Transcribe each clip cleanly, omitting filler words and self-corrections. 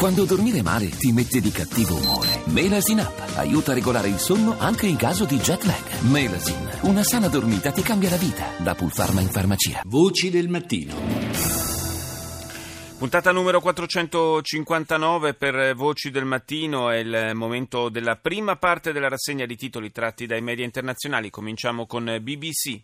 Quando dormire male ti mette di cattivo umore. Melasin Up aiuta a regolare il sonno anche in caso di jet lag. Melasin, una sana dormita ti cambia la vita. Da Pulpharma in farmacia. Voci del mattino. Puntata numero 459 per Voci del Mattino, è il momento della prima parte della rassegna di titoli tratti dai media internazionali. Cominciamo con BBC.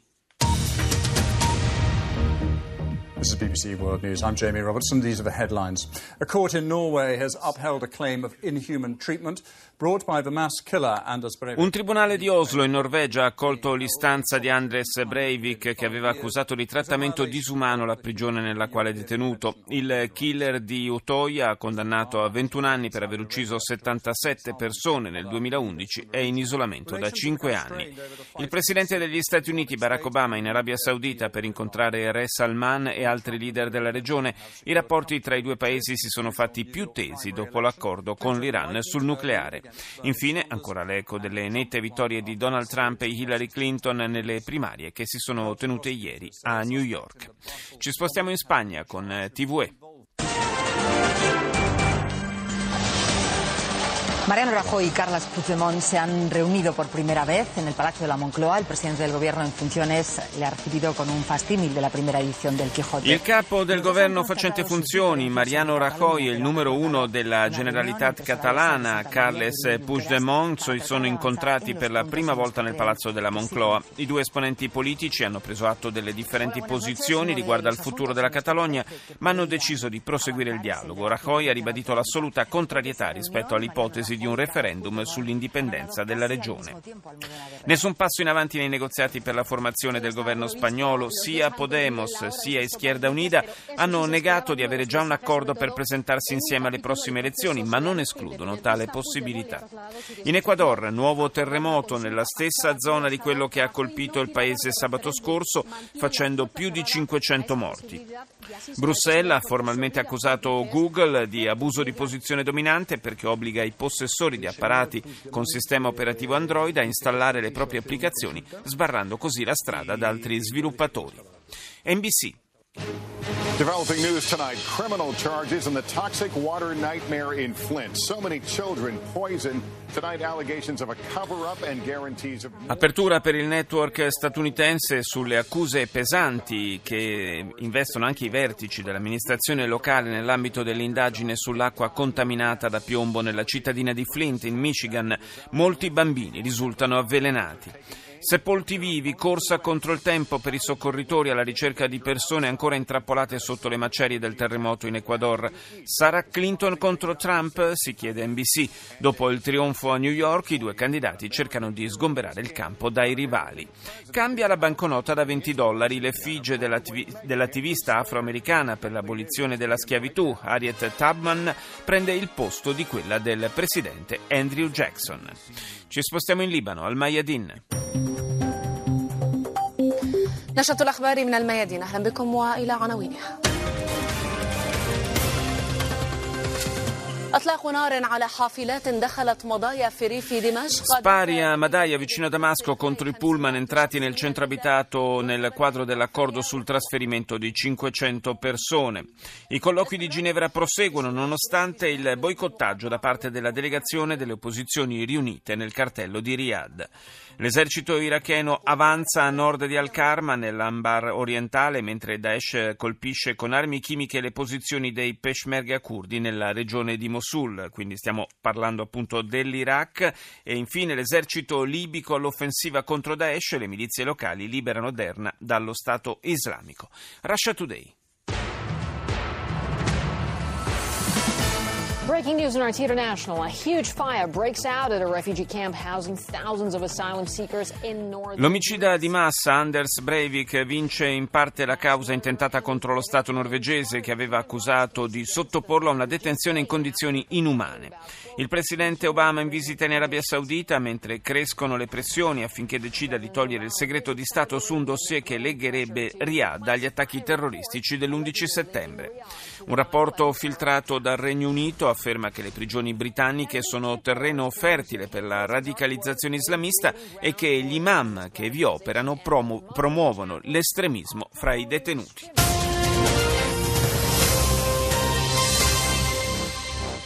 This is BBC World News. I'm Jamie Robertson. These are the headlines. A court in Norway has upheld a claim of inhuman treatment brought by the mass killer Anders Breivik. Un tribunale di Oslo in Norvegia ha accolto l'istanza di Anders Breivik, che aveva accusato di trattamento disumano la prigione nella quale è detenuto. Il killer di Utoya, condannato a 21 anni per aver ucciso 77 persone nel 2011, è in isolamento da 5 anni. Il presidente degli Stati Uniti Barack Obama in Arabia Saudita per incontrare Re Salman e altri leader della regione. I rapporti tra i due paesi si sono fatti più tesi dopo l'accordo con l'Iran sul nucleare. Infine, ancora l'eco delle nette vittorie di Donald Trump e Hillary Clinton nelle primarie che si sono tenute ieri a New York. Ci spostiamo in Spagna con TVE. Mariano Rajoy y Carles Puigdemont se han reunido por primera vez en el Palacio de la Moncloa. El presidente del gobierno en funciones le ha recibido con un fastímil de la primera edición del Quijote. Il capo del governo facente funzioni, Mariano Rajoy, e il numero uno della Generalitat catalana, Carles Puigdemont, si sono incontrati per la prima volta nel Palazzo della Moncloa. I due esponenti politici hanno preso atto delle differenti posizioni riguardo al futuro della Catalogna, ma hanno deciso di proseguire il dialogo. Rajoy ha ribadito l'assoluta contrarietà rispetto all'ipotesi di un referendum sull'indipendenza della regione. Nessun passo in avanti nei negoziati per la formazione del governo spagnolo. Sia Podemos sia Izquierda Unida hanno negato di avere già un accordo per presentarsi insieme alle prossime elezioni, ma non escludono tale possibilità. In Ecuador, nuovo terremoto nella stessa zona di quello che ha colpito il paese sabato scorso, facendo più di 500 morti. Bruxelles ha formalmente accusato Google di abuso di posizione dominante perché obbliga i possessori di apparati con sistema operativo Android a installare le proprie applicazioni, sbarrando così la strada ad altri sviluppatori. NBC. Developing news tonight, criminal charges in the toxic water nightmare in Flint. So many children poisoned. Tonight allegations of a cover-up and guarantees of... Apertura per il network statunitense sulle accuse pesanti che investono anche i vertici dell'amministrazione locale nell'ambito dell'indagine sull'acqua contaminata da piombo nella cittadina di Flint, in Michigan. Molti bambini risultano avvelenati. Sepolti vivi, corsa contro il tempo per i soccorritori alla ricerca di persone ancora intrappolate sotto le macerie del terremoto in Ecuador. Sarà Clinton contro Trump? Si chiede NBC. Dopo il trionfo a New York, i due candidati cercano di sgomberare il campo dai rivali. Cambia la banconota da $20. L'effigie dell'attivista afroamericana per l'abolizione della schiavitù, Harriet Tubman, prende il posto di quella del presidente Andrew Jackson. Ci spostiamo in Libano, al Mayadin. نشرة الأخبار من الميادين. أهلا بكم وإلى عناوينها. Spari a Madaya vicino a Damasco contro i pullman entrati nel centro abitato nel quadro dell'accordo sul trasferimento di 500 persone. I colloqui di Ginevra proseguono nonostante il boicottaggio da parte della delegazione delle opposizioni riunite nel cartello di Riyadh. L'esercito iracheno avanza a nord di Al-Karma nell'Anbar orientale, mentre Daesh colpisce con armi chimiche le posizioni dei Peshmerga curdi nella regione di Mosul, quindi stiamo parlando appunto dell'Iraq. E infine l'esercito libico all'offensiva contro Daesh, le milizie locali liberano Derna dallo Stato islamico. Russia Today. Breaking news in RT International. A huge fire breaks out at a refugee camp housing thousands of asylum seekers in northern... L'omicida di massa Anders Breivik vince in parte la causa intentata contro lo Stato norvegese che aveva accusato di sottoporlo a una detenzione in condizioni inumane. Il presidente Obama in visita in Arabia Saudita mentre crescono le pressioni affinché decida di togliere il segreto di Stato su un dossier che legherebbe Riyadh dagli attacchi terroristici dell'11 settembre. Un rapporto filtrato dal Regno Unito afferma che le prigioni britanniche sono terreno fertile per la radicalizzazione islamista e che gli imam che vi operano promuovono l'estremismo fra i detenuti.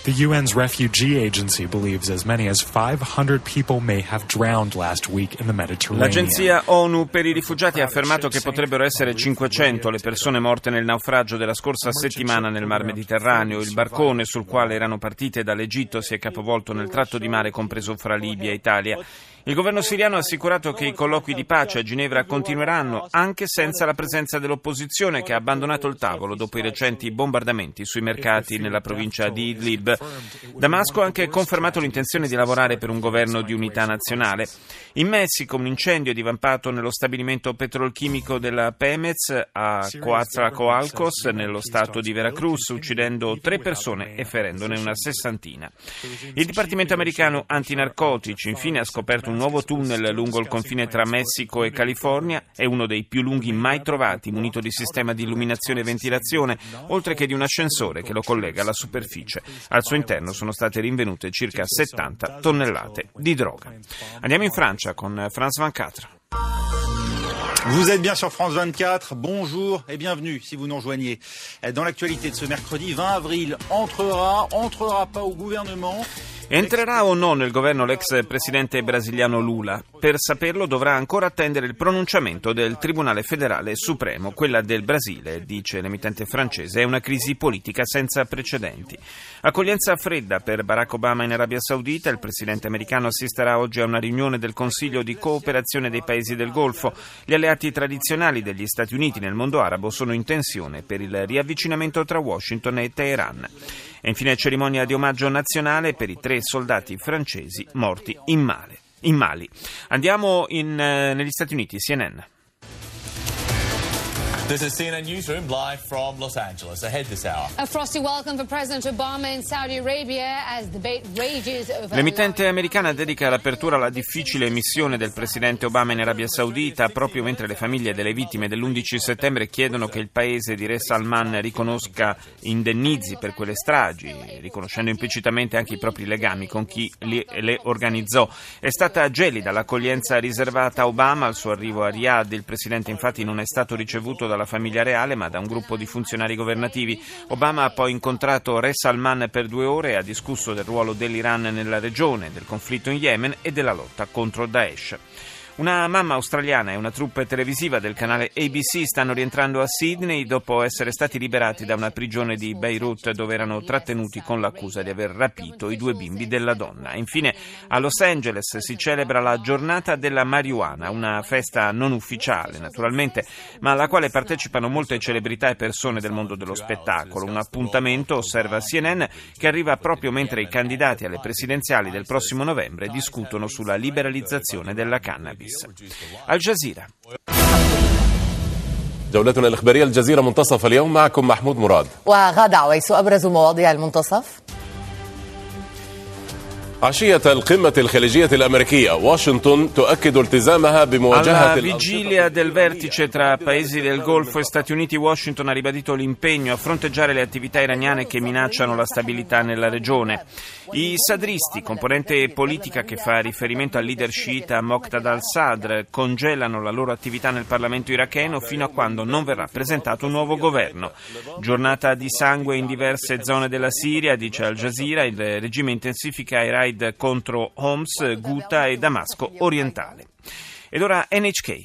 The UN's refugee agency believes as many as 500 people may have drowned last week in the Mediterranean. L'agenzia ONU per i rifugiati ha affermato che potrebbero essere 500 le persone morte nel naufragio della scorsa settimana nel Mar Mediterraneo. Il barcone sul quale erano partite dall'Egitto si è capovolto nel tratto di mare compreso fra Libia e Italia. Il governo siriano ha assicurato che i colloqui di pace a Ginevra continueranno anche senza la presenza dell'opposizione, che ha abbandonato il tavolo dopo i recenti bombardamenti sui mercati nella provincia di Idlib. Damasco ha anche confermato l'intenzione di lavorare per un governo di unità nazionale. In Messico un incendio è divampato nello stabilimento petrolchimico della Pemex a Coatzacoalcos, nello stato di Veracruz, uccidendo 3 persone e ferendone una 60. Il Dipartimento americano antinarcotici infine ha scoperto un nuovo tunnel lungo il confine tra Messico e California. È uno dei più lunghi mai trovati, munito di sistema di illuminazione e ventilazione, oltre che di un ascensore che lo collega alla superficie. Al suo interno sono state rinvenute circa 70 tonnellate di droga. Andiamo in Francia con France 24. Vous êtes bien sur France 24, bonjour et bienvenue si vous nous rejoignez. Dans l'actualité de ce mercredi 20 avril, entrera pas au gouvernement. Entrerà o no nel governo l'ex presidente brasiliano Lula? Per saperlo dovrà ancora attendere il pronunciamento del Tribunale Federale Supremo. Quella del Brasile, dice l'emittente francese, è una crisi politica senza precedenti. Accoglienza fredda per Barack Obama in Arabia Saudita. Il presidente americano assisterà oggi a una riunione del Consiglio di cooperazione dei paesi del Golfo. Gli alleati tradizionali degli Stati Uniti nel mondo arabo sono in tensione per il riavvicinamento tra Washington e Teheran. E infine cerimonia di omaggio nazionale per i 3 soldati francesi morti in Mali. Andiamo negli Stati Uniti, CNN. This is CNN Newsroom live from Los Angeles. Ahead this hour. A frosty welcome for President Obama in Saudi Arabia as debate rages over. L'emittente americana dedica l'apertura alla difficile missione del presidente Obama in Arabia Saudita proprio mentre le famiglie delle vittime dell'11 settembre chiedono che il paese di Re Salman riconosca indennizi per quelle stragi, riconoscendo implicitamente anche i propri legami con chi le organizzò. È stata gelida l'accoglienza riservata a Obama al suo arrivo a Riyadh. Il presidente infatti non è stato ricevuto dalla famiglia reale ma da un gruppo di funzionari governativi. Obama ha poi incontrato Re Salman per 2 ore e ha discusso del ruolo dell'Iran nella regione, del conflitto in Yemen e della lotta contro Daesh. Una mamma australiana e una troupe televisiva del canale ABC stanno rientrando a Sydney dopo essere stati liberati da una prigione di Beirut dove erano trattenuti con l'accusa di aver rapito i 2 bimbi della donna. Infine a Los Angeles si celebra la giornata della marijuana, una festa non ufficiale naturalmente, ma alla quale partecipano molte celebrità e persone del mondo dello spettacolo. Un appuntamento, osserva CNN, che arriva proprio mentre i candidati alle presidenziali del prossimo novembre discutono sulla liberalizzazione della cannabis. Al Jazeera. جولتنا الإخبارية الجزيرة منتصف اليوم معكم محمود مراد. وغادة عويس أبرز مواضيع المنتصف. عشية القمة الخليجية الأمريكية واشنطن تؤكد التزامها بمواجهة. Alla vigilia del vertice tra paesi del Golfo e Stati Uniti, Washington ha ribadito l'impegno a fronteggiare le attività iraniane che minacciano la stabilità nella regione. I sadristi, componente politica che fa riferimento al leader sciita Moqtada al-Sadr, congelano la loro attività nel Parlamento iracheno fino a quando non verrà presentato un nuovo governo. Giornata di sangue in diverse zone della Siria, dice Al Jazeera. Il regime intensifica i raid contro Homs, Ghouta e Damasco orientale. Ed ora NHK.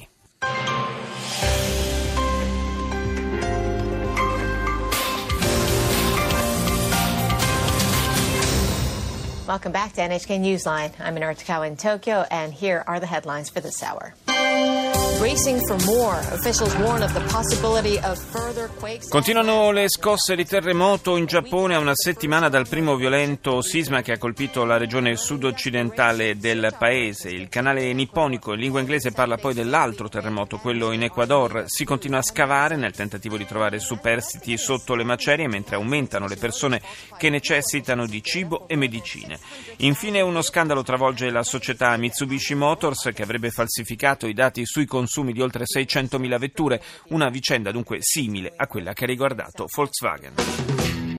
Welcome back to NHK Newsline. I'm Minara Takawa in Tokyo, and here are the headlines for this hour. Bracing for more. Officials warn of the possibility of further quakes. Continuano le scosse di terremoto in Giappone a una settimana dal primo violento sisma che ha colpito la regione sud-occidentale del paese. Il canale nipponico in lingua inglese parla poi dell'altro terremoto, quello in Ecuador. Si continua a scavare nel tentativo di trovare superstiti sotto le macerie mentre aumentano le persone che necessitano di cibo e medicine. Infine uno scandalo travolge la società Mitsubishi Motors che avrebbe falsificato i dati sui consumi di oltre 600.000 vetture, una vicenda dunque simile a quella che ha riguardato Volkswagen.